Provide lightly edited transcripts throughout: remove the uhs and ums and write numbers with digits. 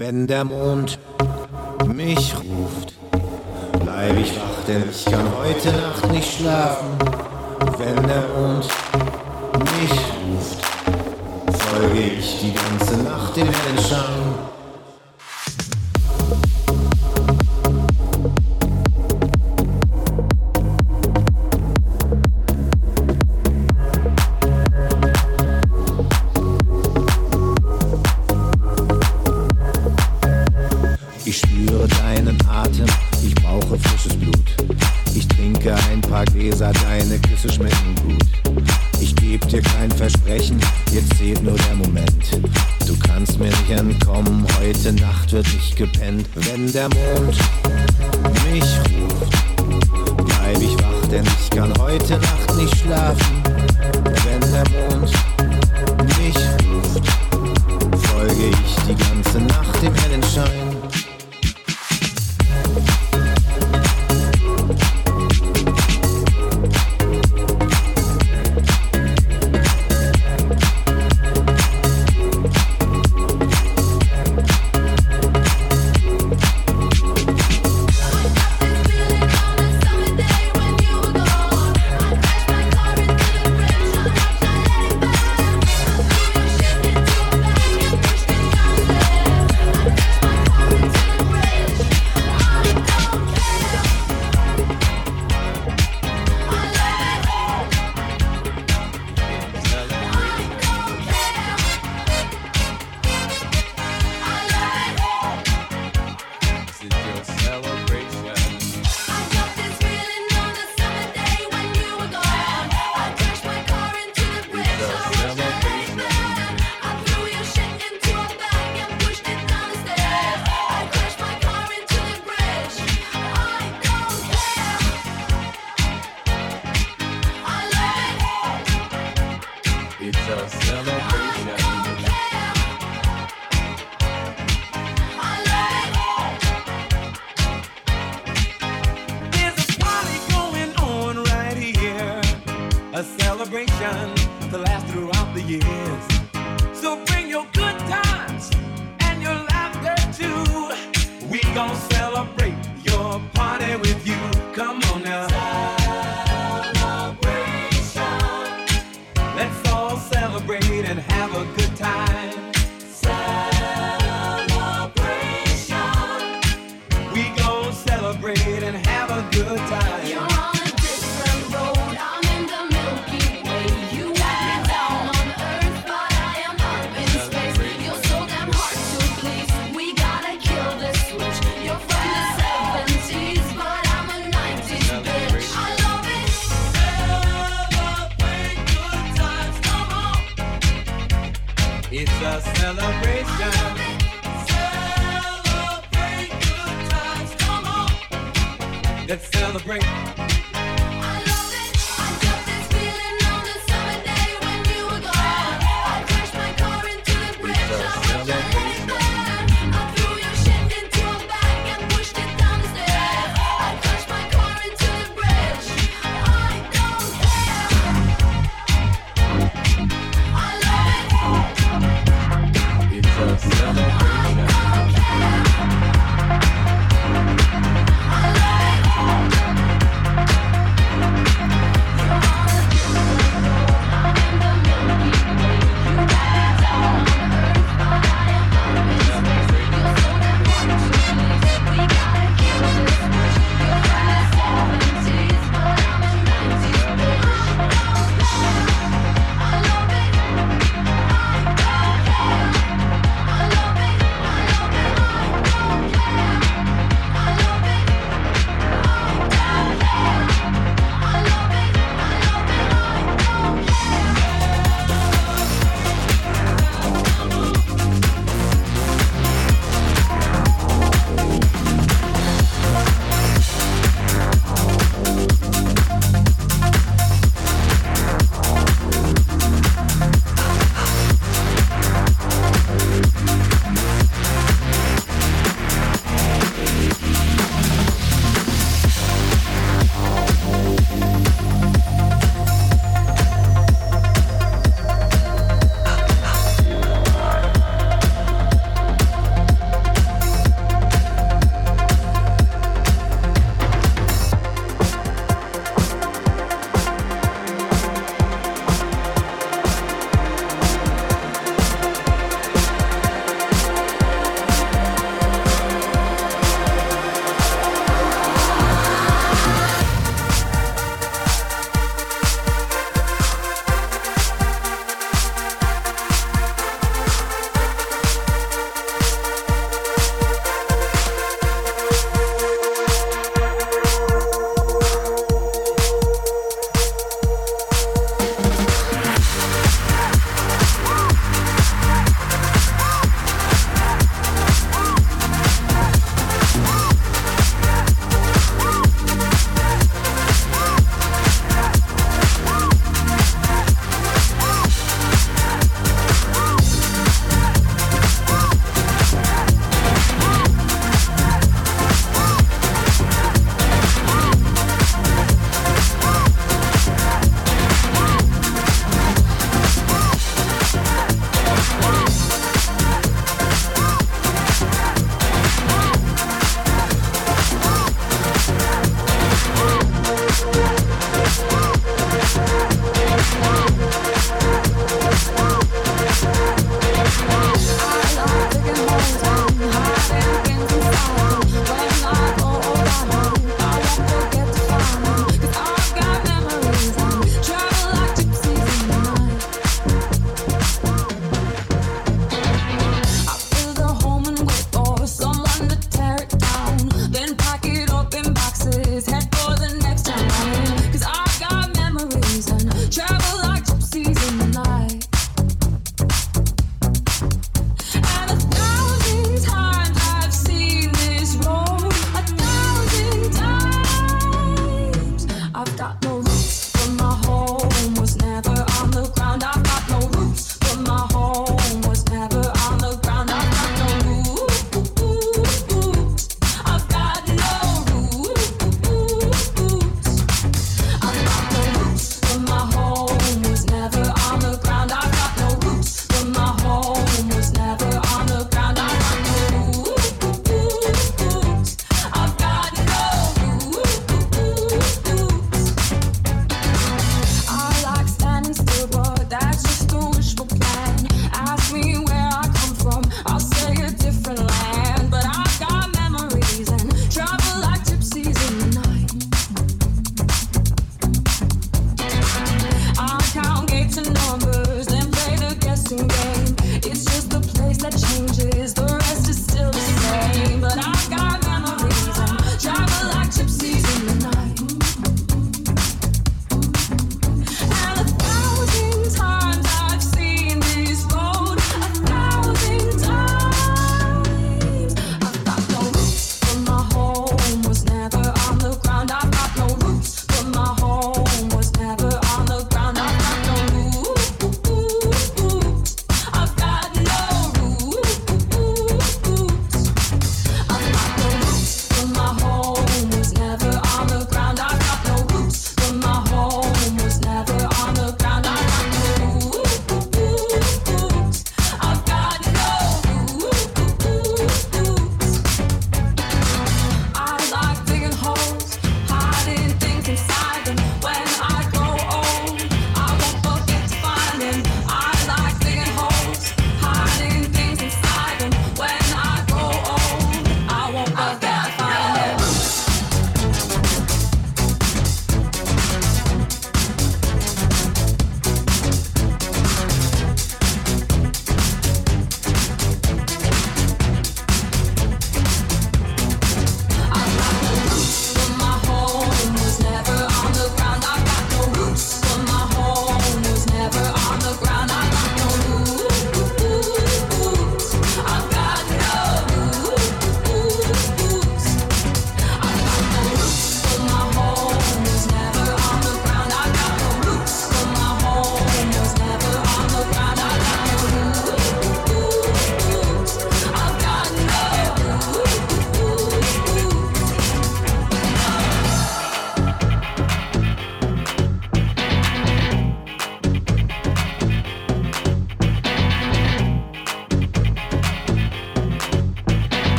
Wenn der Mond mich ruft, bleib ich wach, denn ich kann heute Nacht nicht schlafen. Wenn der Mond mich ruft, folge ich die ganze Nacht dem hellen Schein. Ich spüre deinen Atem, ich brauche frisches Blut. Ich trinke ein paar Gläser, deine Küsse schmecken gut. Ich geb dir kein Versprechen, jetzt zählt nur der Moment. Du kannst mir nicht entkommen, heute Nacht wird nicht gepennt. Wenn der Mond mich ruft, bleib ich wach, denn ich kann heute Nacht nicht schlafen. Wenn der Mond mich ruft, folge ich die ganze Nacht dem hellen Schein.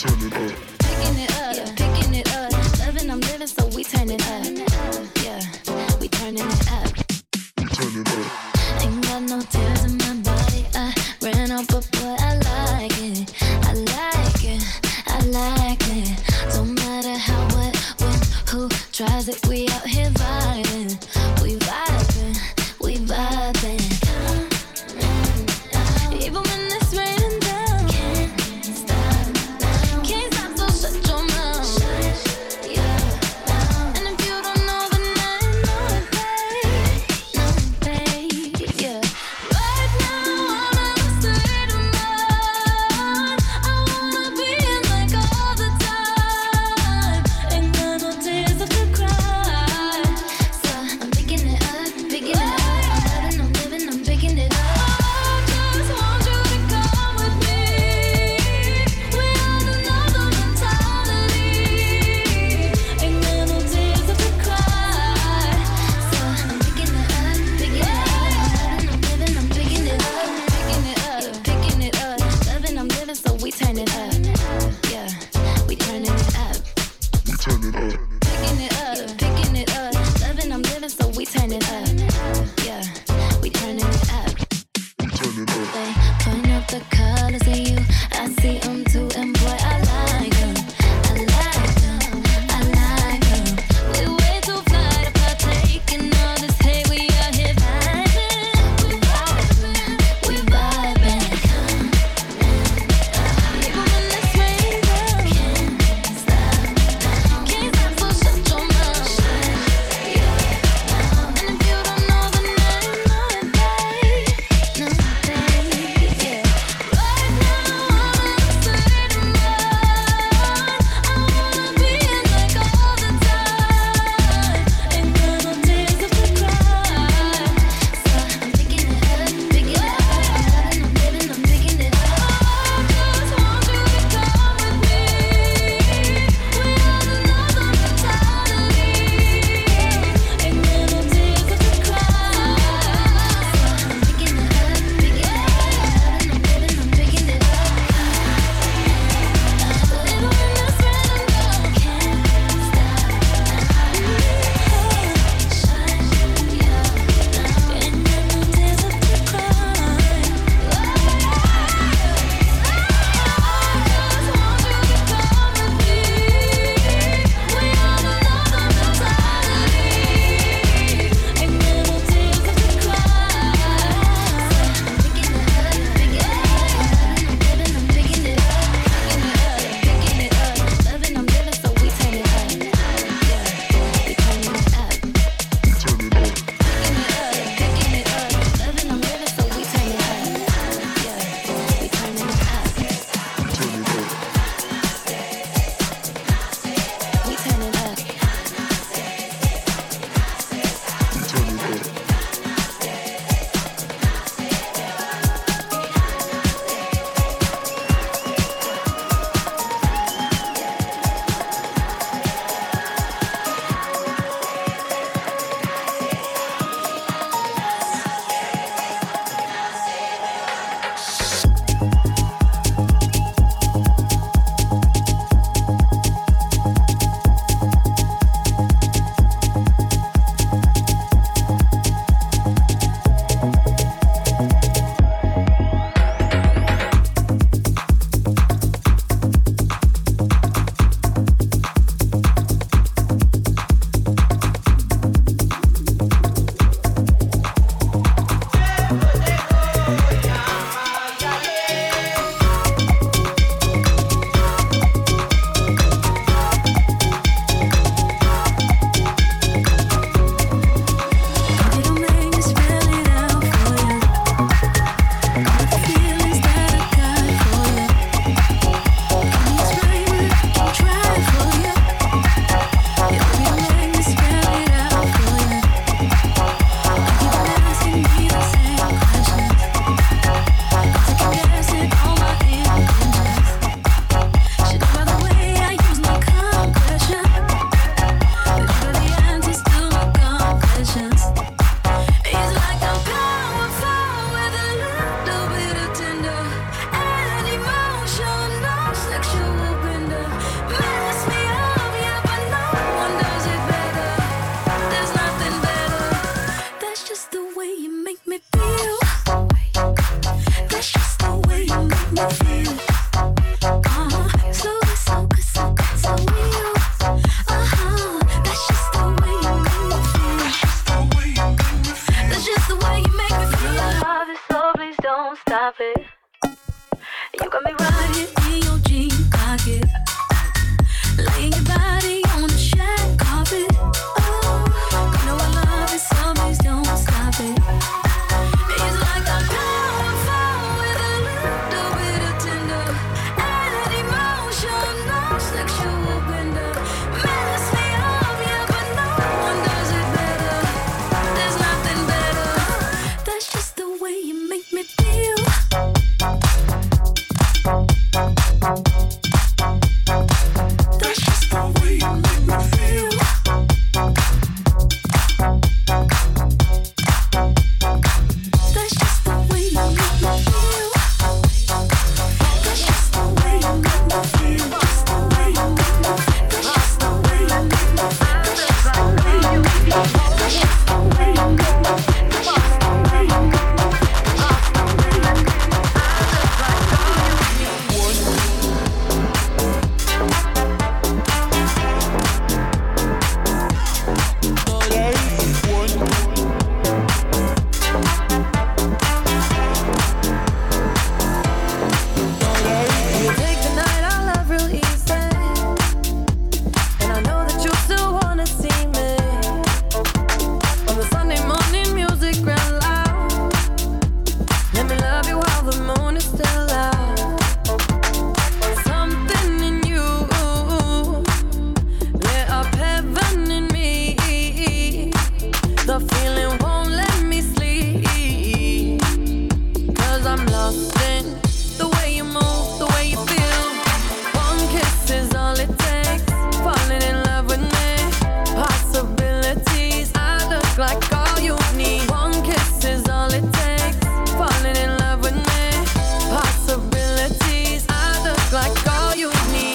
picking it up. Loving, I'm living, so we turn it up. Yeah, we turning it up. Ain't got no tears in my body. I ran out, but boy, I like it. I like it. I like it. Don't matter how, what, when, who tries it. We out here vibing. We vibing. We vibing. Even when it's raining down, can't stop, so shut your mouth. And if you don't like all you need.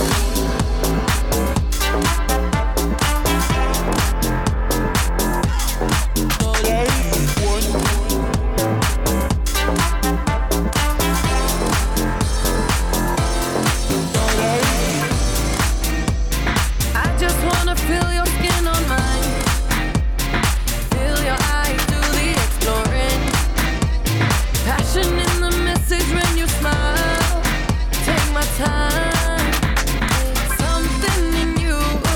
I just wanna feel your skin on mine. Feel your eyes do the exploring. Passion in the message when you smile. Take my time. Something in you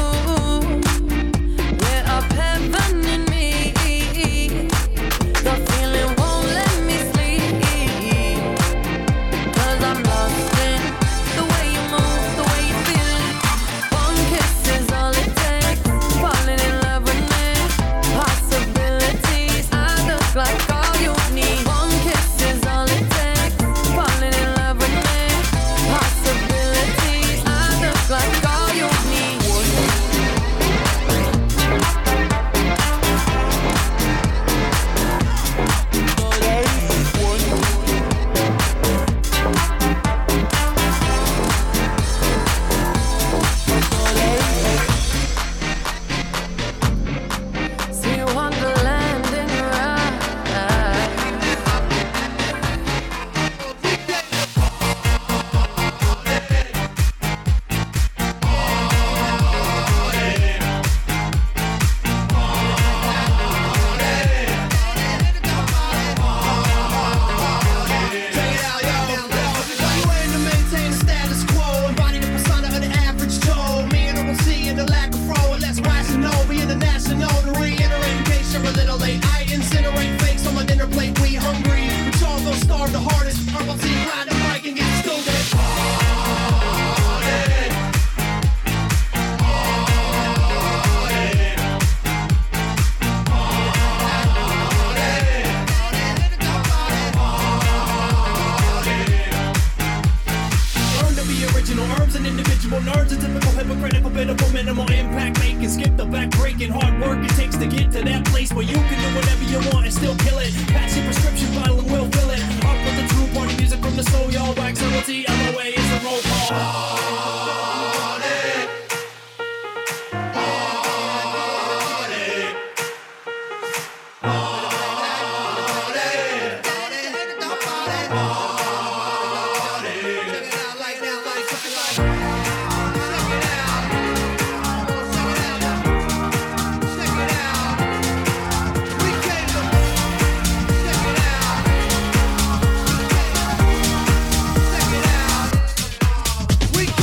lit up heaven in me. The feeling won't let me sleep. 'Cause I'm lost in the way you move, the way you feel. One kiss is all it takes. Falling in love with me. Possibilities, I look like all you need. One kiss is all it takes. Falling in love with me. Possibilities, I look like all you need. See Wonderland in your eyes. You aim to maintain the status quo, embody the persona of the average Joe. Me and don't see in the lack of fro, and less rational. Be international to reiterate in case you're a little late. I incinerate fakes on my dinner plate. We hungry, but y'all go starve the hardest. I'm about to ride the mic and get stupid. Learn to be original, herbs and individual nerves. A typical hypocritical bit of a minimal impact making. Skip the back breaking hard work it takes to get to that place where you can do whatever you want and still kill it. Pass your prescription bottle and we'll fill it up with the true party music from the soul. Y'all wax LOT, LOA is a roll call. We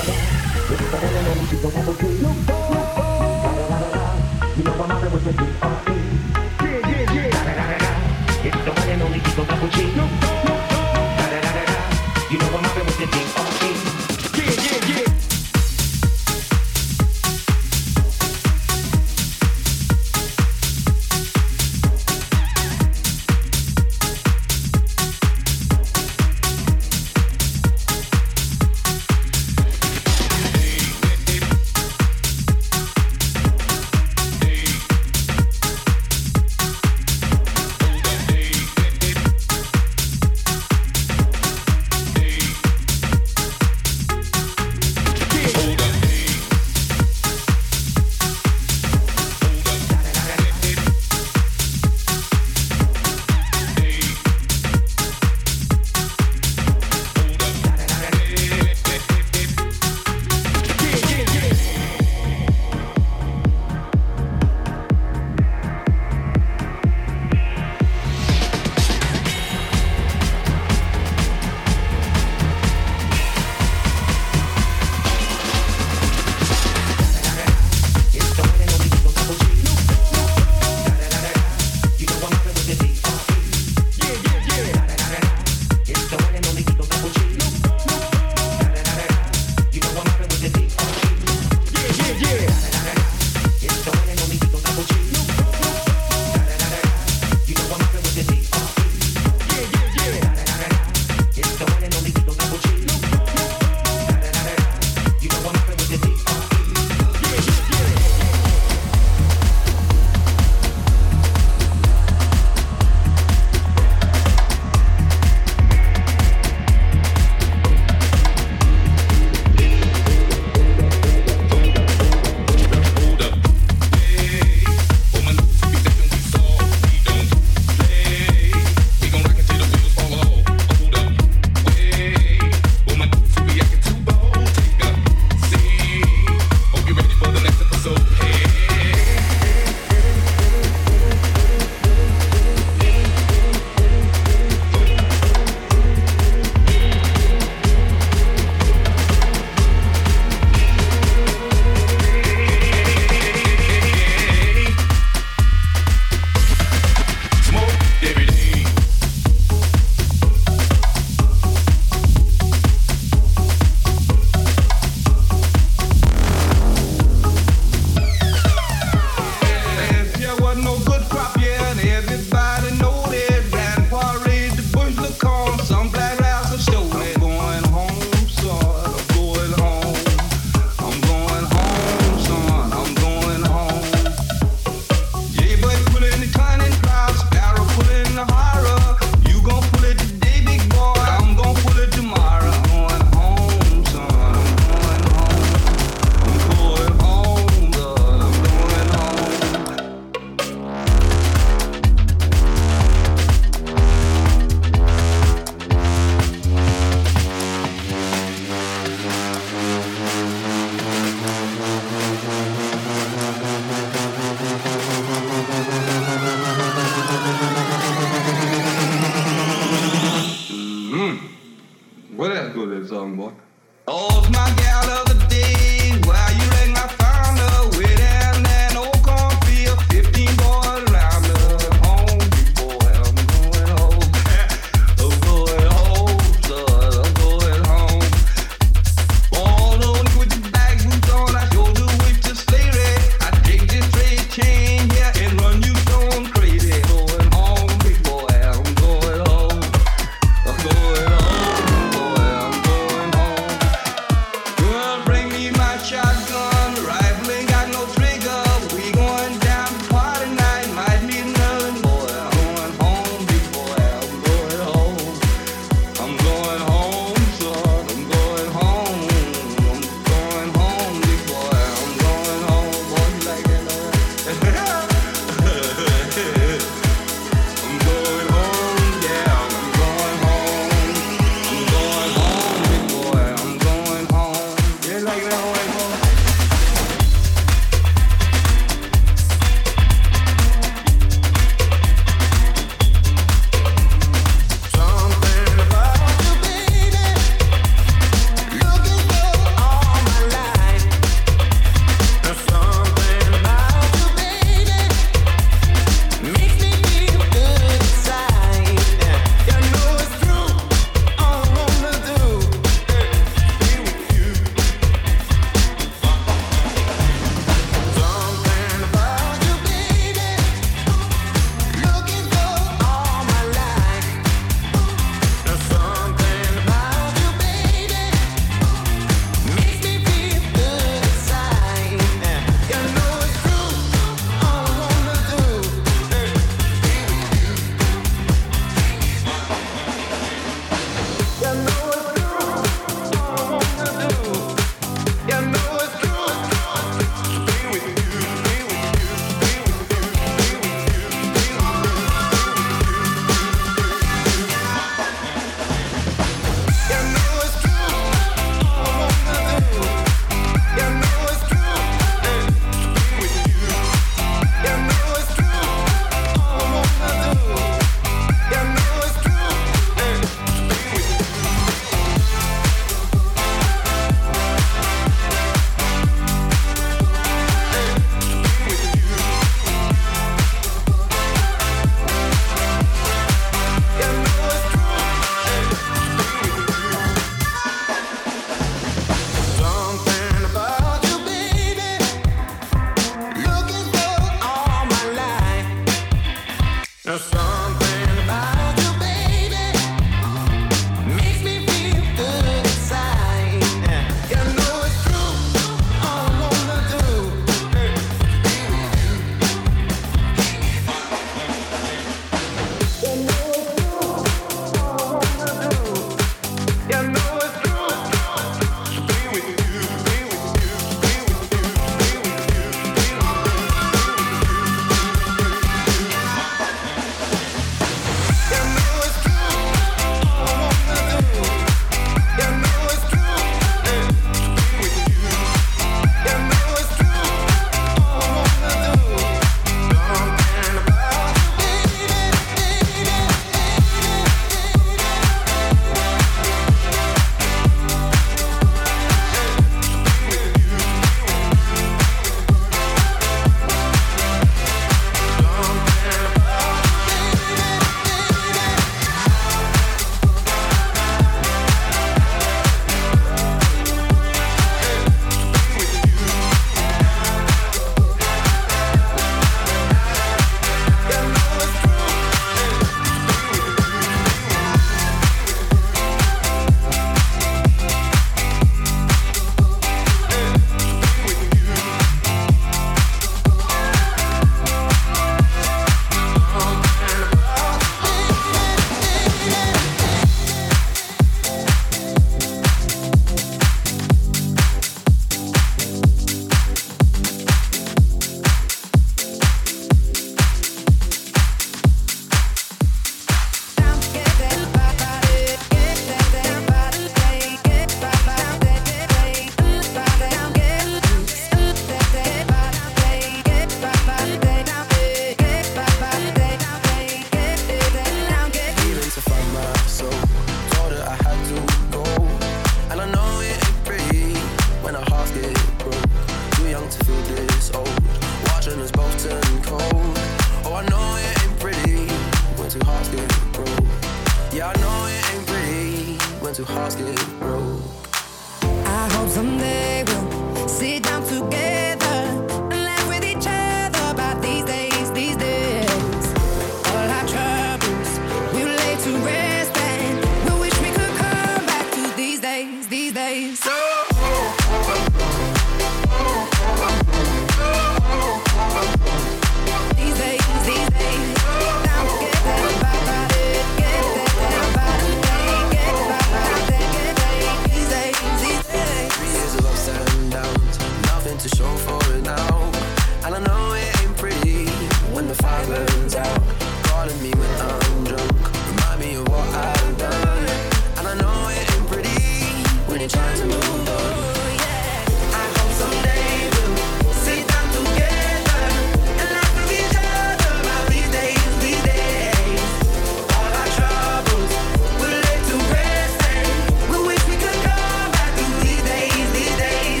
light burns out. Calling me when I'm drunk, remind me of what I've done. And I know it ain't pretty when you're trying to move on. I hope someday we'll sit down together and laugh with each other about these days, these days. All our troubles we'll lay to rest and we wish we could come back to these days, these days.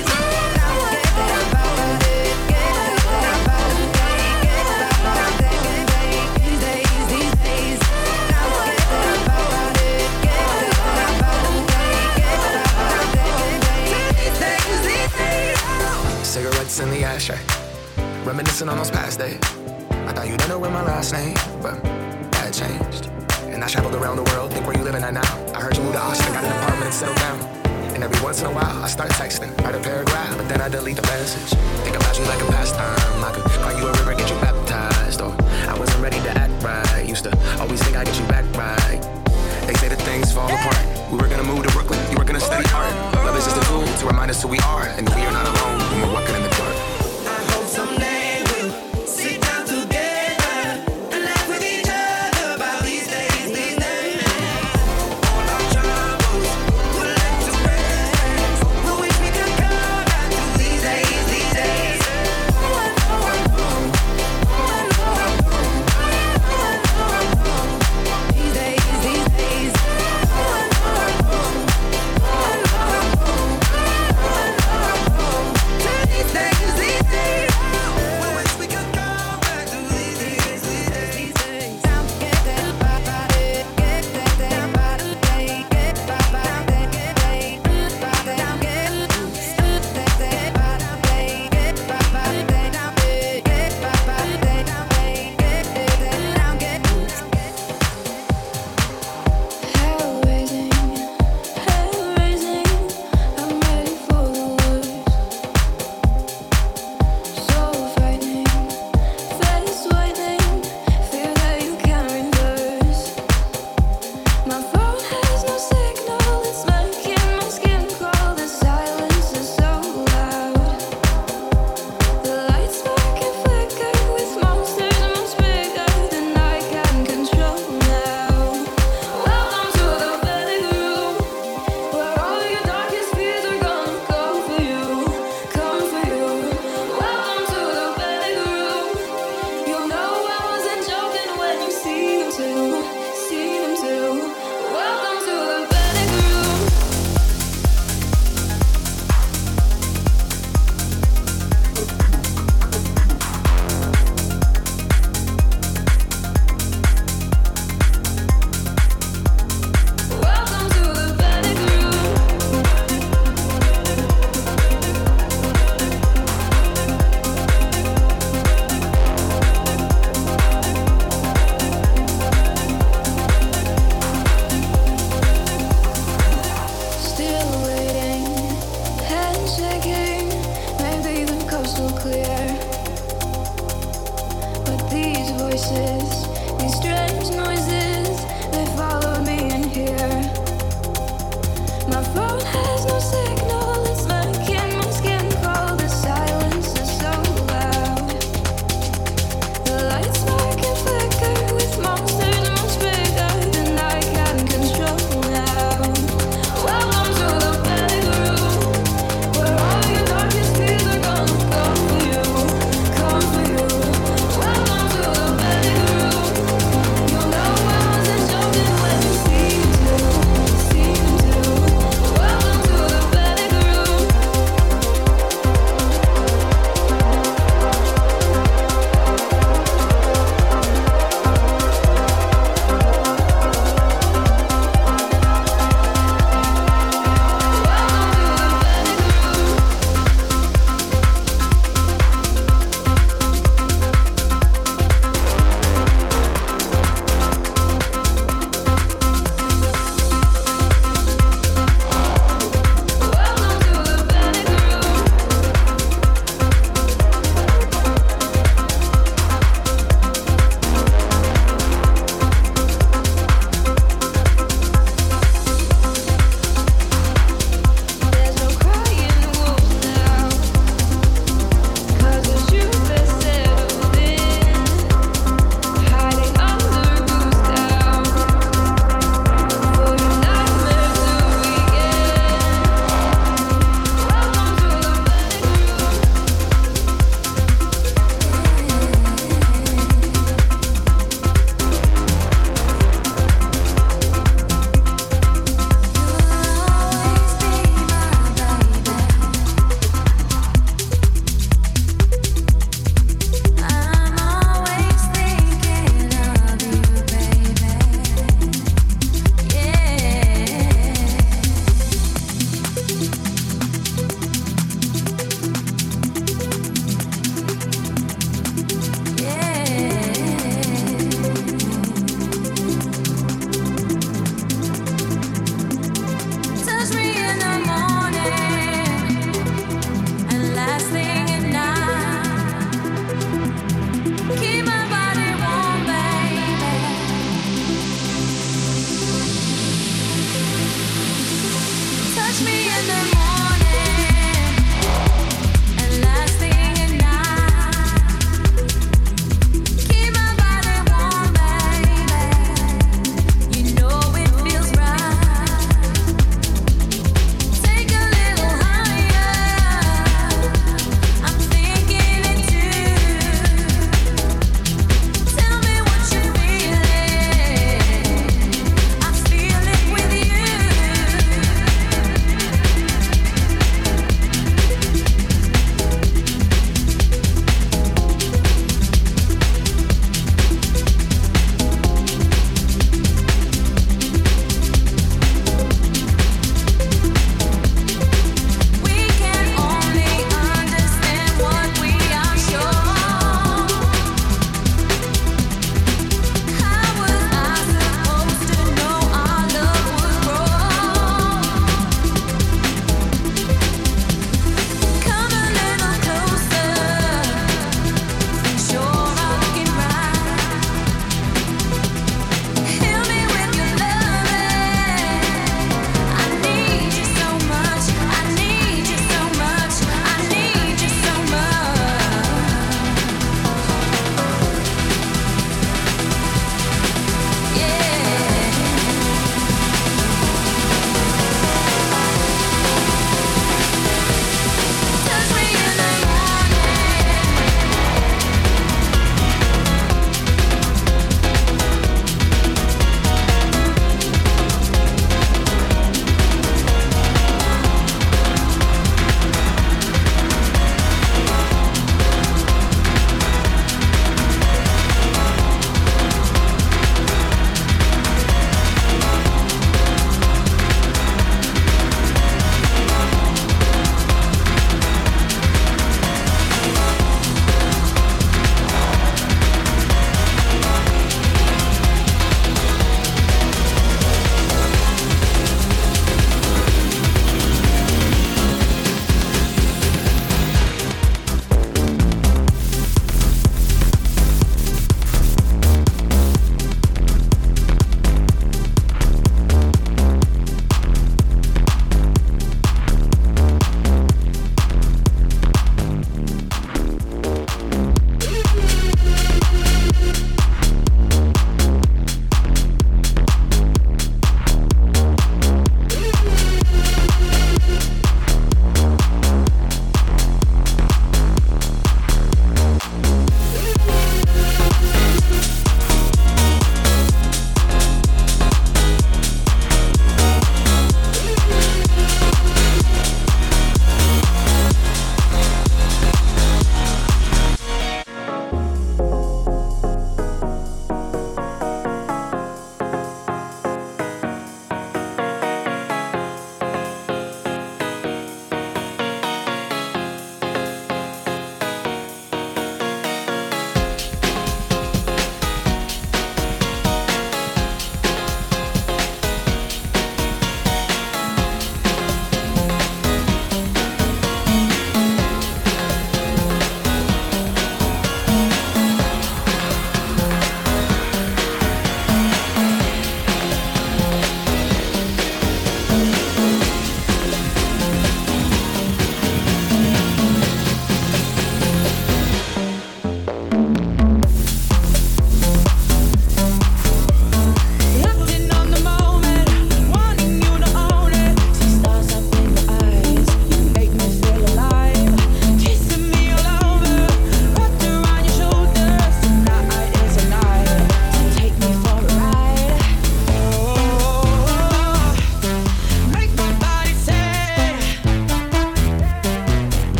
Cigarettes in the ashtray, reminiscing on those past days. I thought you'd know my last name, but that changed. And I traveled around the world, think where you living at now. I heard you moved to Austin, got an apartment and settled down. And every once in a while, I start texting, write a paragraph, but then I delete the message. Think about you like a pastime. I could call you a river, get you baptized. Or I wasn't ready to act right. Used to always think I'd get you back right. They say that things fall apart. We were gonna move to Brooklyn, you were gonna study art. Love is just a tool to remind us who we are, and that we are not alone when we're walking in the dark. I hope someday we'll sit down together and laugh with each other about these days, these days. All our troubles we'll let to rest. We wish we could come back to these days, these days. These days, these days.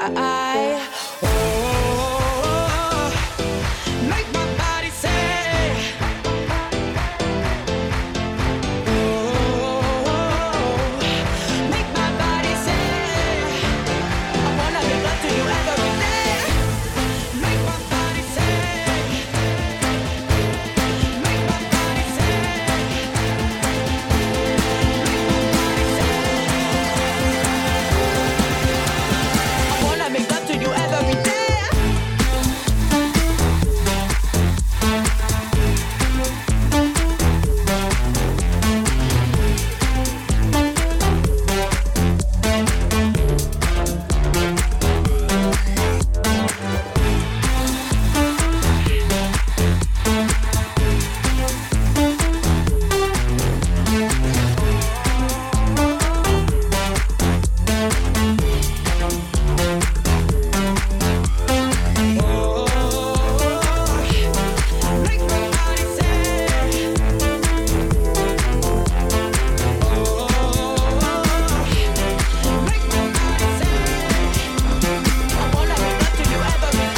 Make my body say, make my body say, I wanna make love to you every day. Make my body say, make my body say, I wanna make love to you every day. Make my body say, make my body say, I wanna make love to you every day.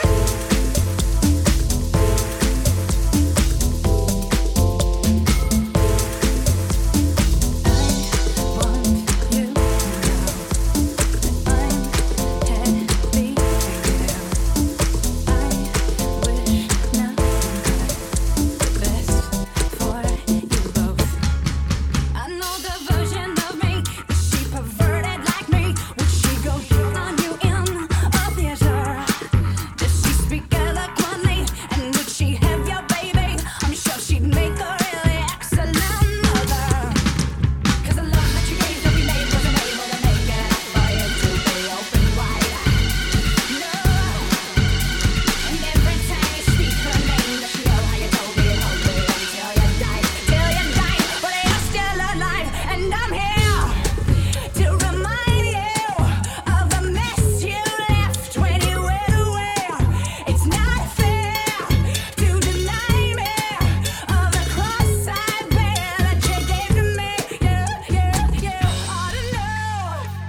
I know the version of me. Is she perverted like me? Would she go down on you in a theater? Does she speak eloquently? And would she have your baby? I'm sure she'd make a really excellent mother. 'Cause the love that you gave to be made wasn't able to make it up for you to be open wide. No. And every time you speak her name, does she know how you told me and hold me until you died? Till you died, but you're still alive, and I'm here to remind you of the mess you left when you went away. It's not fair to deny me of the cross I bear that you gave to me. You ought to know.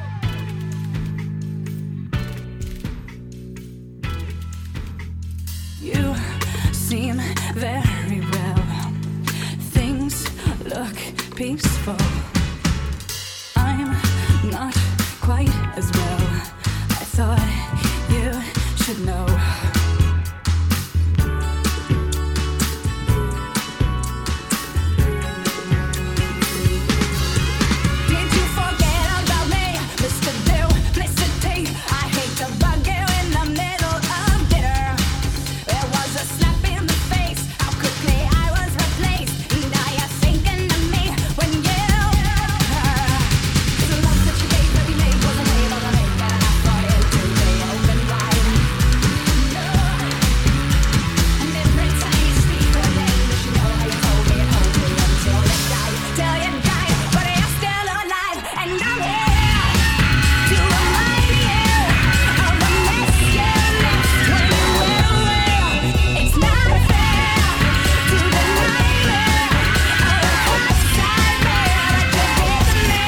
You seem very well. Things look peaceful. I'm not quite as well. I thought you should know. Did you forget about me, Mr. Duplicity? I hate to bug you in the middle of dinner. There was a slap in the face, how quickly I was replaced. Now you're thinking of me when you love her. 'Cause the love that you gave to be made wasn't able to make it up for you to be open wide. No. And every time you speak her name, does she know how you told me and hold me until you died? Till you died, but you're still alive, and I'm here to remind you of the mess you left when you went away. It's not fair to deny me of the cross I bear that you gave to me.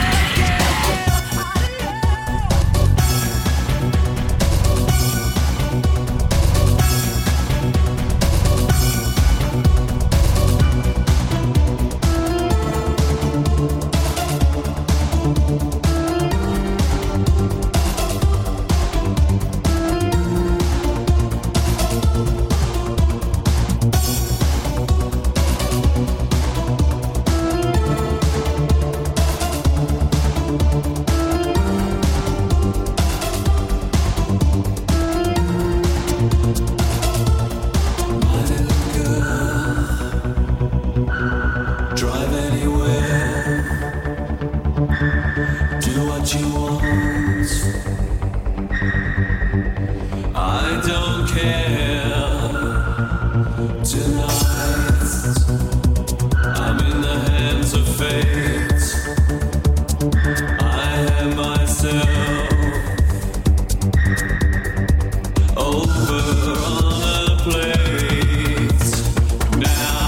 Drive anywhere, do what you want. I don't care. Tonight, I'm in the hands of fate. I am myself over on a plate now.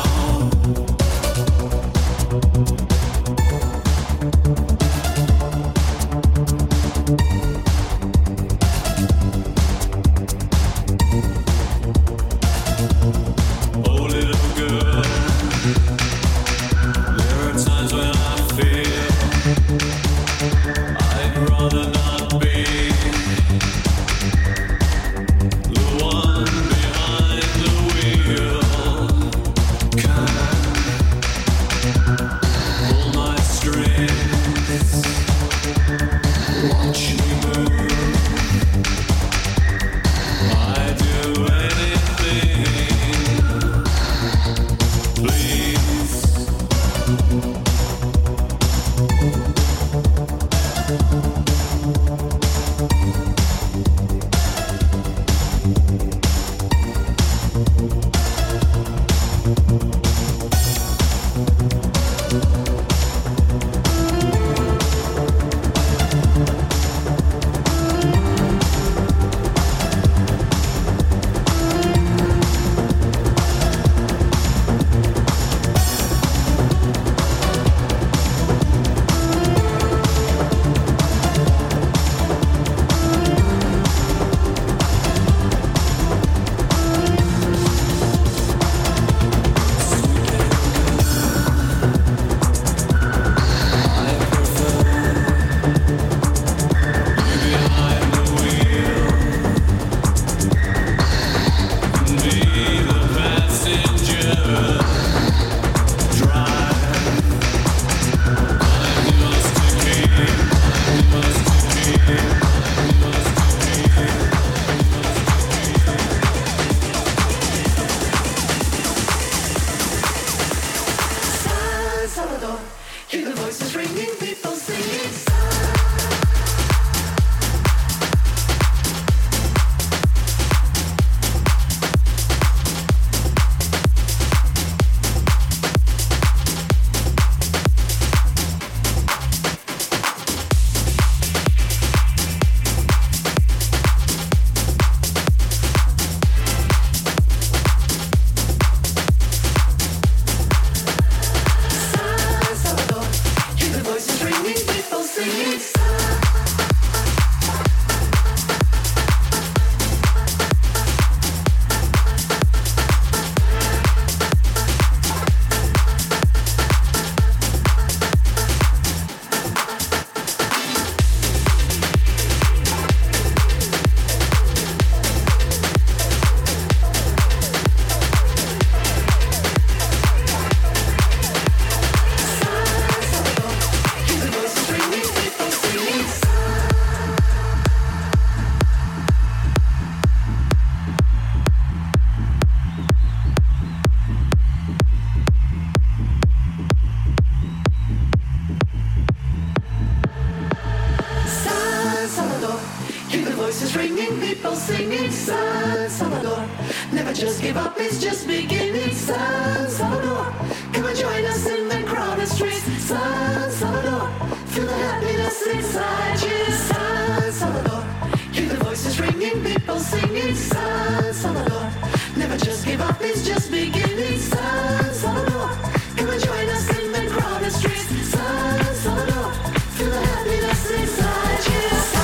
Never just give up, it's just beginning. San Salvador, come and join us in the crowded streets. San Salvador, feel the happiness inside you. San Salvador, hear the voices ringing, people singing. San Salvador, never just give up, it's just beginning. San Salvador, come and join us in the crowded streets. San Salvador, feel the happiness inside you.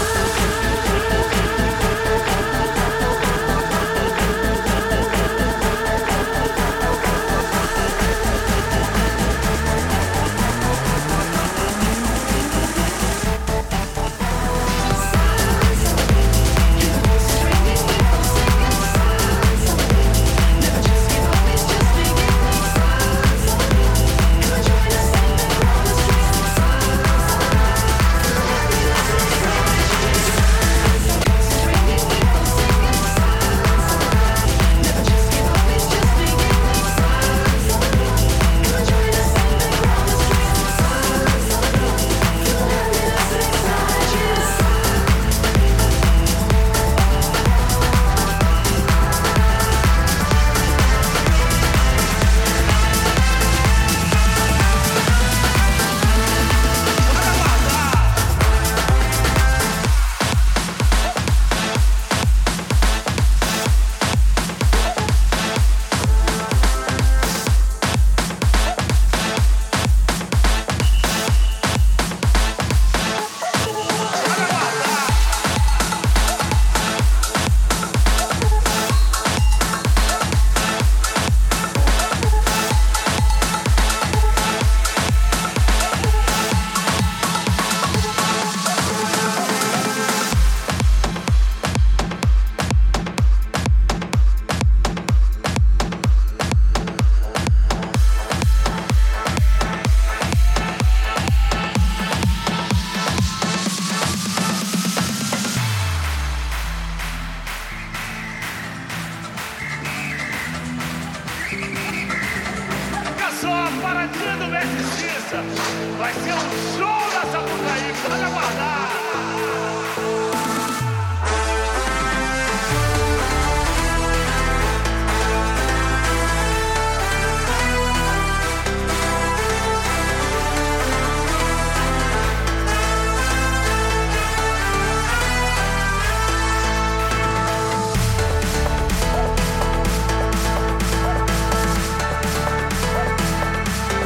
Vai ser um show da Sapucaí, pode aguardar!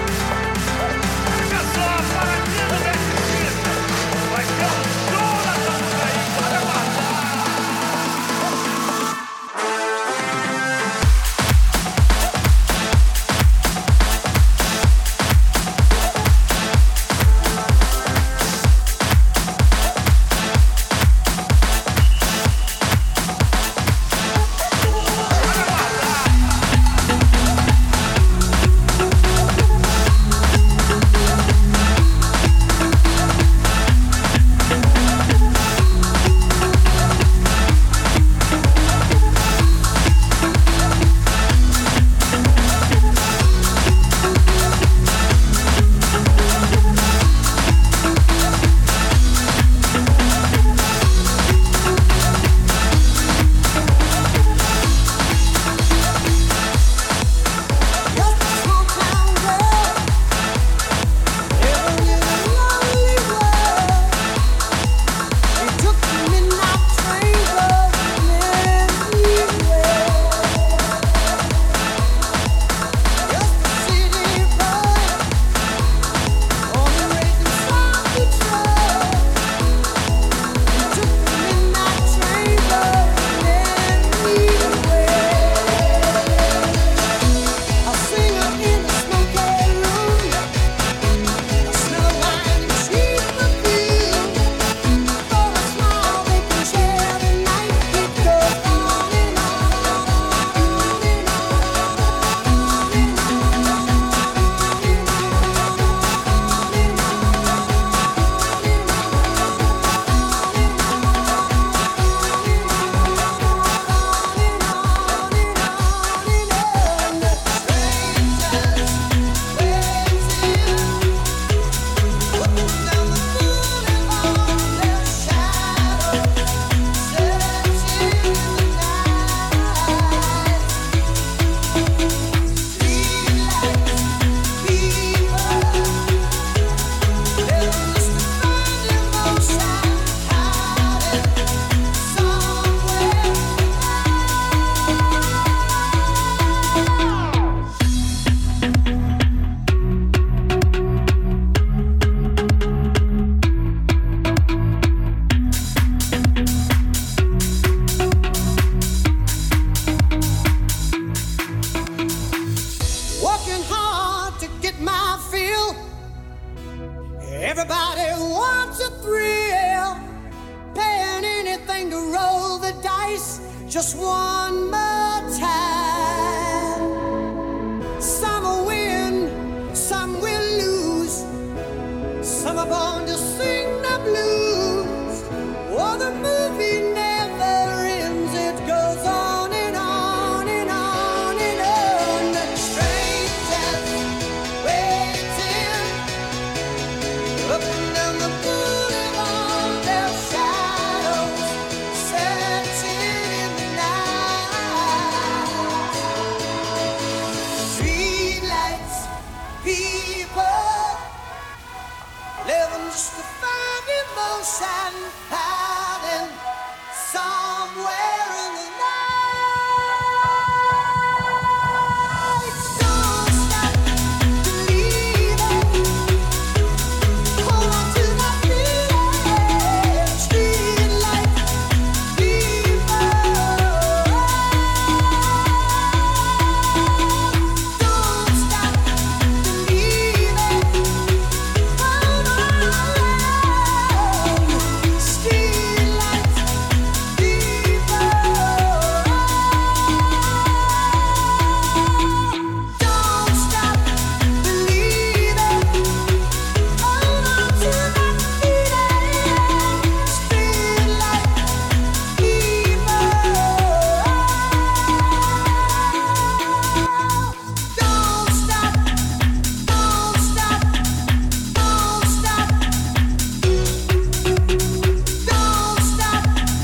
Vai ser um show da just one more time. Some will win, some will lose. Some are born to sing the blues. Oh, the movie never ends. It goes on and on and on and on. The strangers waiting up and down the boulevard. Their shadows searching in the night. Street lights, people living just to find emotion, hiding somewhere in the night. Don't stop believing. Hold on to that feeling. Street lights, people. Don't stop believing. Hold on. Street lights, people. Don't stop believing. Hold on to that feeling. Street lights, people. Don't stop, don't stop, don't stop. Don't stop.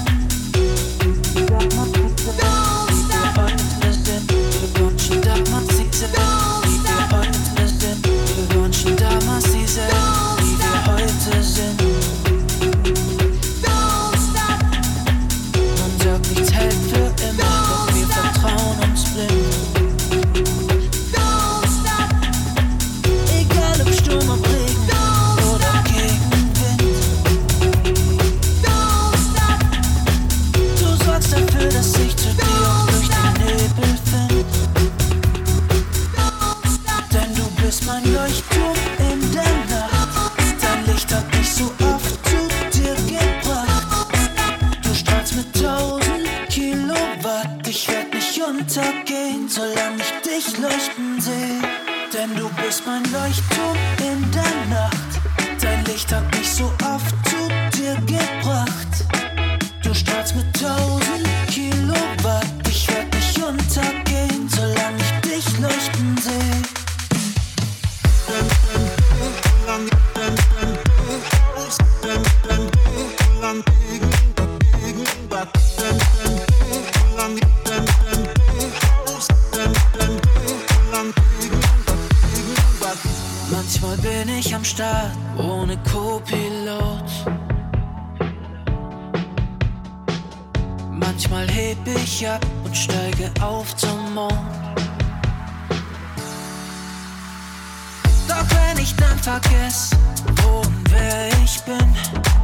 Egal ob Sturm, ob Regen oder Gegenwind. Du sorgst dafür, dass ich zu dir durch den Nebel find. Denn du bist mein Leuchtturm in der Nacht. Dein Licht hat mich so oft zu dir gebracht. Du strahlst mit 1000 Kilowatt. Ich werd nicht untergehen, solange ich dich leuchten seh. Denn du bist mein Leuchtturm in der Nacht. Dein Licht hat mich so oft zu dir gebracht. Du strahlst mit 1000 Kilowatt. Ich werd nicht untergehen, solange ich dich leuchten seh. Manchmal bin ich am Start ohne Co-Pilot. Manchmal heb ich ab und steige auf zum Mond. Doch wenn ich dann vergess, wo und wer ich bin,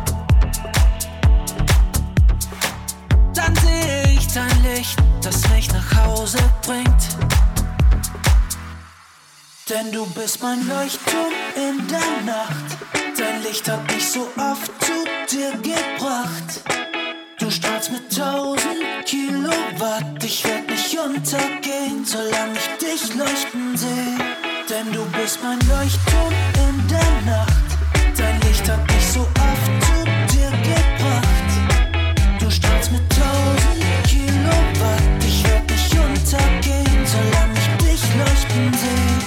dann sehe ich dein Licht, das mich nach Hause bringt. Denn du bist mein Leuchtturm in der Nacht. Dein Licht hat mich so oft zu dir gebracht. Du strahlst mit 1000 Kilowatt. Ich werd nicht untergehen, solange ich dich leuchten seh. Denn du bist mein Leuchtturm in der Nacht. Dein Licht hat mich so oft zu dir gebracht. Du strahlst mit 1000 Kilowatt. Ich werd nicht untergehen, solange ich dich leuchten seh.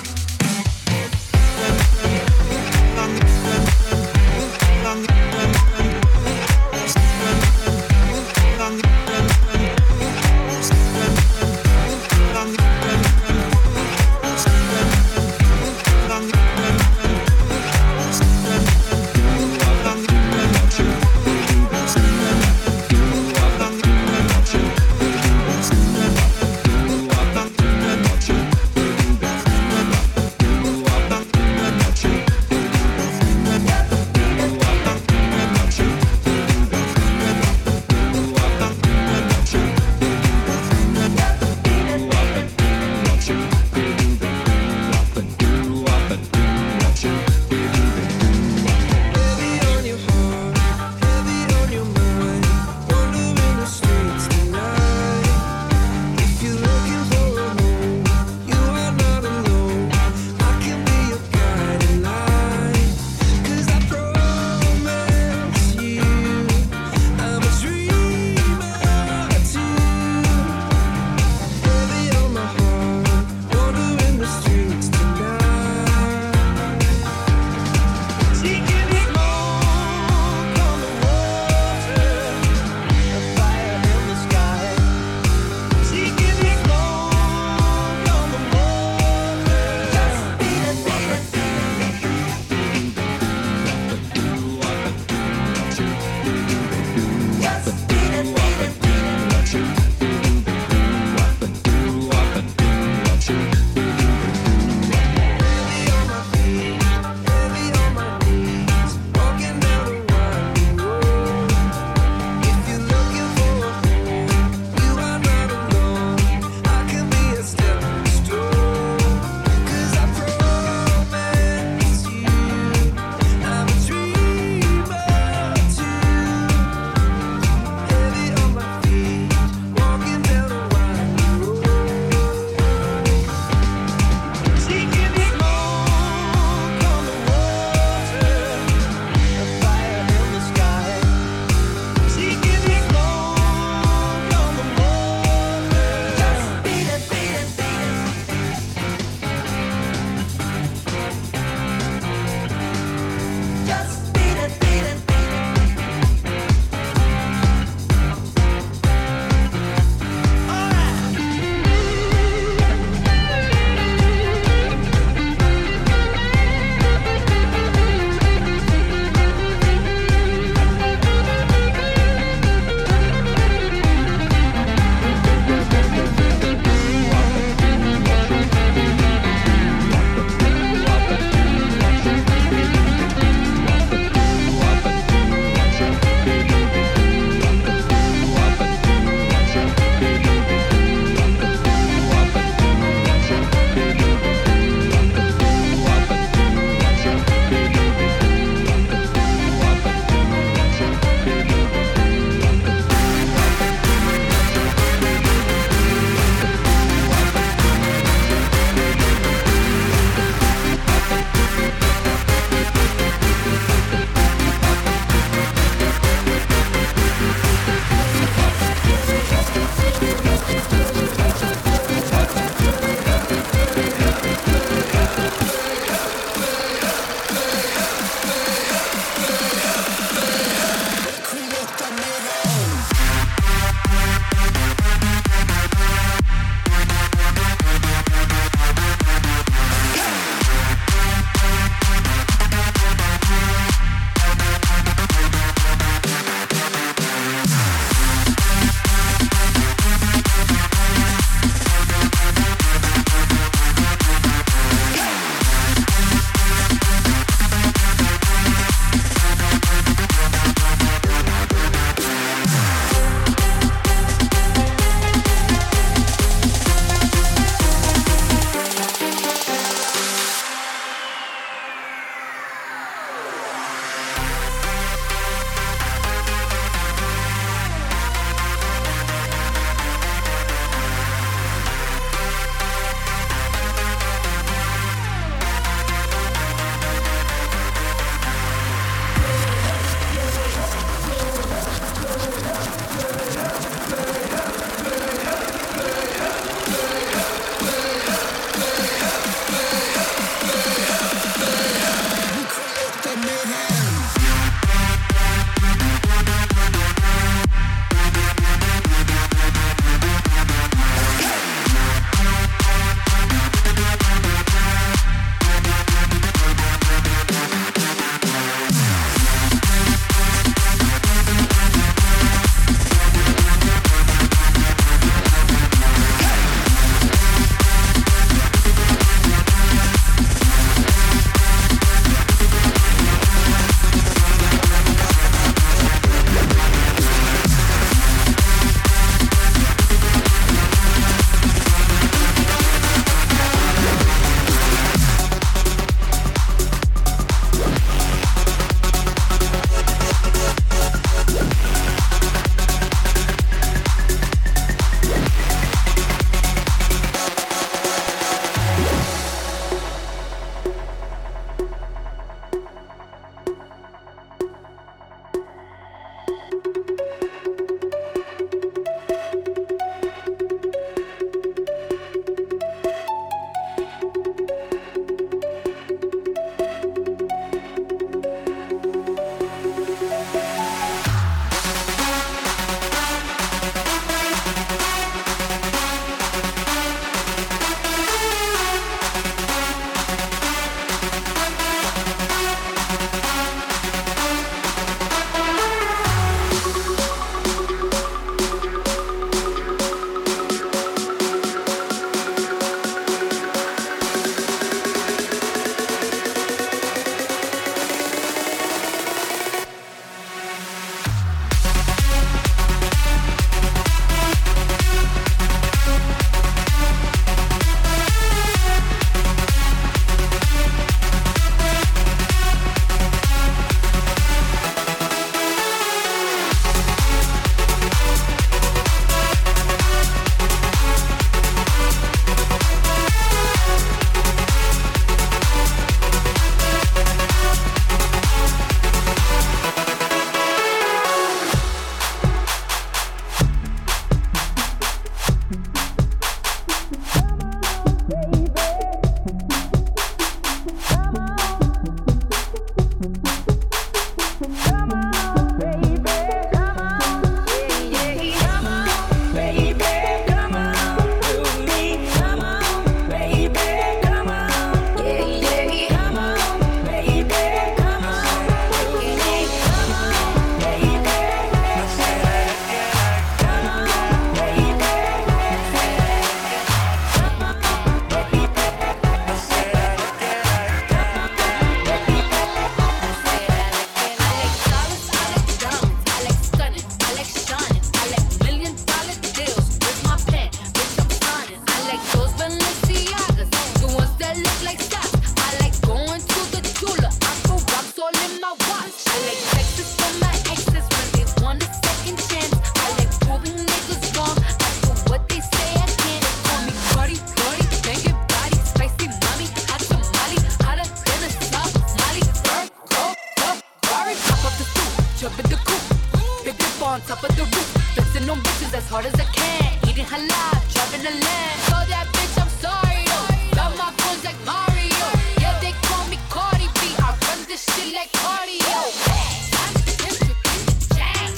Balenciagas, the ones that look like stocks. I like going to the Tula. I go rocks all in my watch. I like sexes for my exes when they want a second chance. I like proving niggas wrong. I do what they say I can't. Call me Cardi, Cardi, banging body, spicy mommy, hot tamale, hotter than a Somali. Go, Ferrari, top of the stoop, jump in the coupe, big dip on top of the roof, flexing on bitches as hard as I can, eating halal, driving a lamb. So that bitch, I'm sorry, yo. Got my phones like Mario. Yeah, they call me Cardi B. I run this shit like cardio. I'm the district in the chain.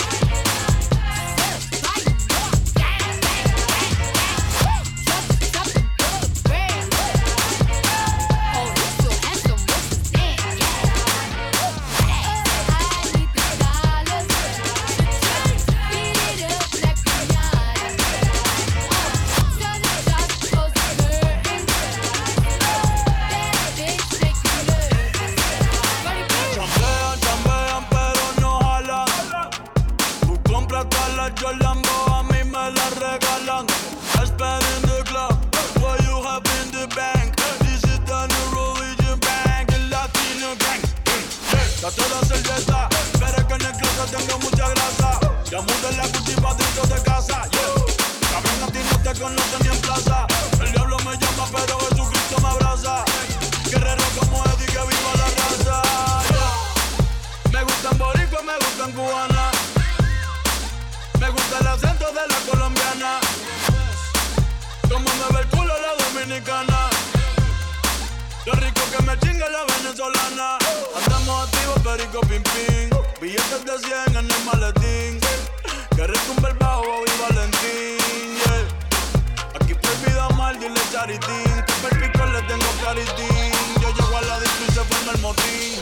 Certified York, gang, gang, gang, gang. Just the top of the brand. Oh, he's so handsome, what's his name? I need the dollars. Beat it up like Rihanna. Turn the shots, close the curtains. That bitch make me nervous. Cardi B. Chambean, chambean, pero no jalan. Tú compras todas las Jolambo, a mí me las regalan. I spend in the club, what you have in the bank. This is the new religion bank, el latino gang. Ya toda cerveza, pero que en el closet tengo mucha grasa. Ya mudé la cultiva dentro de casa, yo. Cabrón, a ti no te conocen ni en plaza. El diablo me llama, pero Jesucristo me abraza. Guerrero como Eddie, que viva la raza, yeah. Me gustan boricuas, me gustan cubanas. Me gusta el acento de la colombiana. Como me ve el culo la dominicana. Lo rico que me chinga la venezolana. Andamos activos, perico, pim, pim. Billetes de 100 en el maletín. Que retumbe el bajo, y Valentín, yeah. Aquí prohibida mal, dile charitín. Que perpico le tengo claritín. Yo llego a la disco y se forma el motín.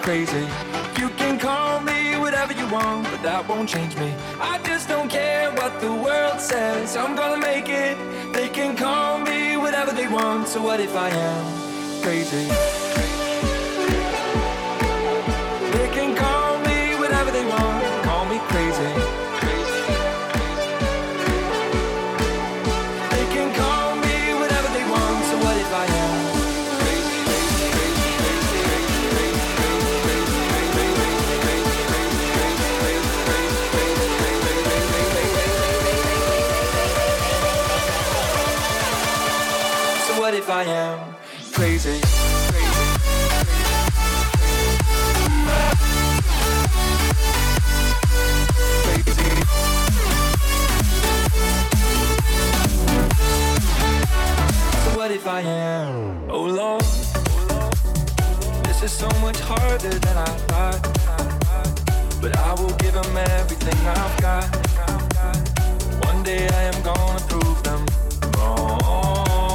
crazy. You can call me whatever you want, but that won't change me. I just don't care what the world says, I'm gonna make it. They can call me whatever they want, so what if I am crazy? They can call me whatever they want, call me crazy. They can call me whatever they want, so what if I am? What if I am crazy? So what if I am? Oh Lord, this is so much harder than I thought. But I will give them everything I've got. One day I am gonna prove them wrong.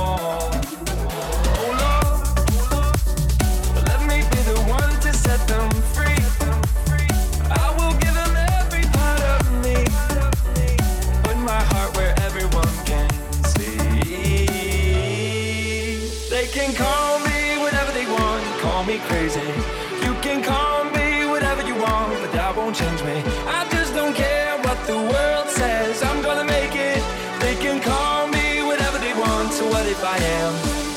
Set them free. I will give them every part of me. Put my heart where everyone can see. They can call me whatever they want, call me crazy. You can call me whatever you want, but that won't change me. I just don't care what the world says, I'm gonna make it. They can call me whatever they want, so what if I am?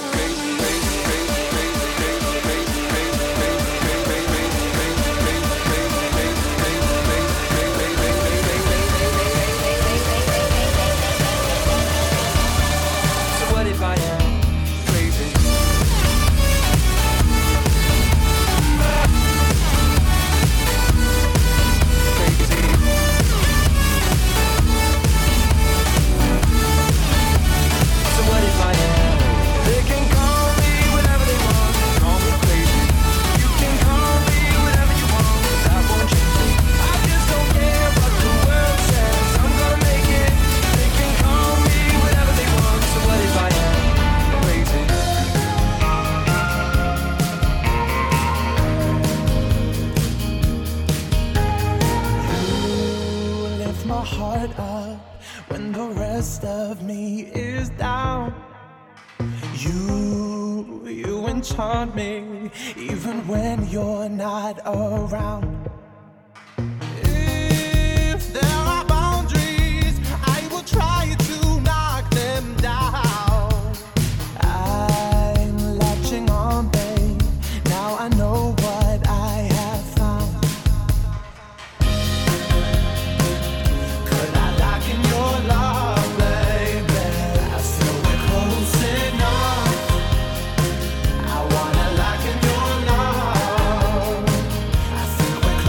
Enchant me, even when you're not around. If there are boundaries, I will try to knock them down. I'm latching on, babe. Now I know what I have found. Could I lock in your love, baby? I feel we're close enough. I wanna lock in your love. I think we're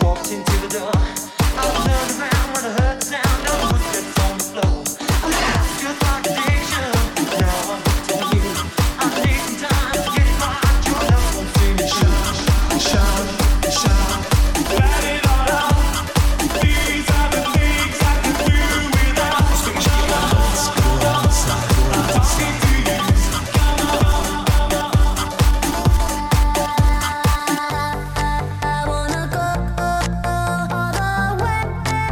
walked into the door. I turned around when I heard the sound of footsteps on the floor. I laughed just like addiction. Now I'm telling you, I need some time to get it right. Your love won't see me shine, shine, shine. Light it all up. These are the things I can do without. Swing your arms, go outside, I'm talking to you. Come on. I wanna go all the way.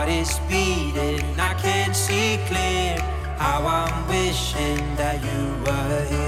heart is beating, I can see clear how I'm wishing that you were here.